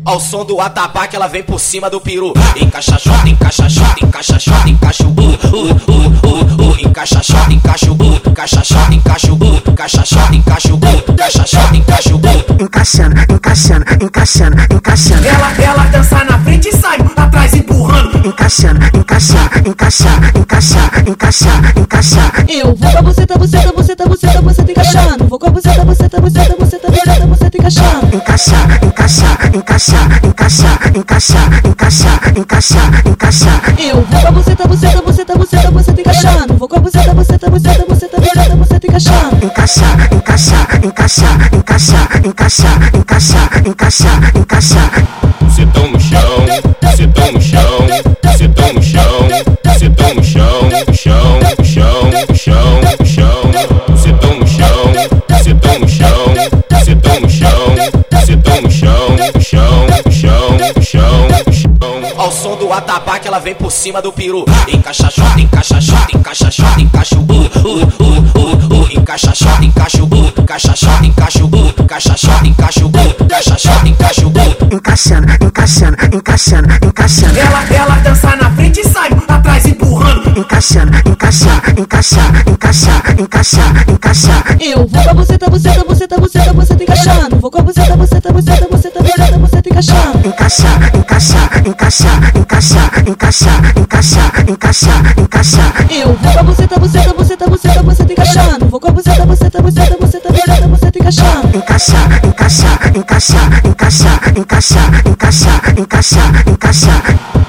Ao som do atabaque ela vem por cima do peru. Encaixa xota, encaixa xota, encaixa xota, encaixa o encaixa xota, encaixa o encaixa xota, encaixa o encaixa xota, encaixa o encaixa xota, encaixa o encaixando, encaixando, encaixando, encaixando. Ela dança na frente e sai atrás empurrando. Encaixando, encaixando, encaixando, encaixando, encaixando, encaixando. Eu vou com a buceta, buceta, buceta, buceta, buceta encaixando. Vou com a buceta, buceta, buceta, buceta, buceta, buceta encaixando. Encaixar, encaixar, encaixar, encaixar, encaixar, encaixar, encaixar, encaixar. Eu vou com a buceta, buceta, buceta, buceta, buceta encaixando. Vou com a buceta, buceta, buceta, buceta, buceta, buceta encaixando. Encaixar, encaixar, encaixar, encaixar, encaixar, encaixar, encaixar, encaixar. Bucetão no chão, bucetão no chão, bucetão no chão, bucetão no chão, no chão, no chão, no chão, no chão. Bucetão no chão, bucetão no chão, bucetão no chão, bucetão no chão, no chão, no chão, no chão, no chão. Ao som do atabaque ela vem por cima do peru. Encaixa xota, encaixa xota, encaixa xota, encaixa o encaixa xota, encaixa o encaixa xota, encaixa o encaixa xota, encaixa o encaixa xota, encaixa o encaixando, encaixando, encaixando, encaixando. Ela dança na frente e sai atrás empurrando. Encaixando, encaixar, encaixar, encaixar, encaixar, encaixar. Eu vou com a buceta, buceta, buceta, buceta, buceta encaixando. Vou com a buceta, buceta, buceta, buceta, buceta, buceta encaixando. Encaixar, encaixar, encaixar, encaixar, encaixar, encaixar, encaixar, encaixar. Eu vou com a buceta, buceta, buceta, buceta, buceta encaixando. Vou com a buceta, buceta, buceta, buceta, buceta, buceta encaixando. Encaixar, encaixar, encaixar, encaixar, encaixar, encaixar, encaixar, encaixar.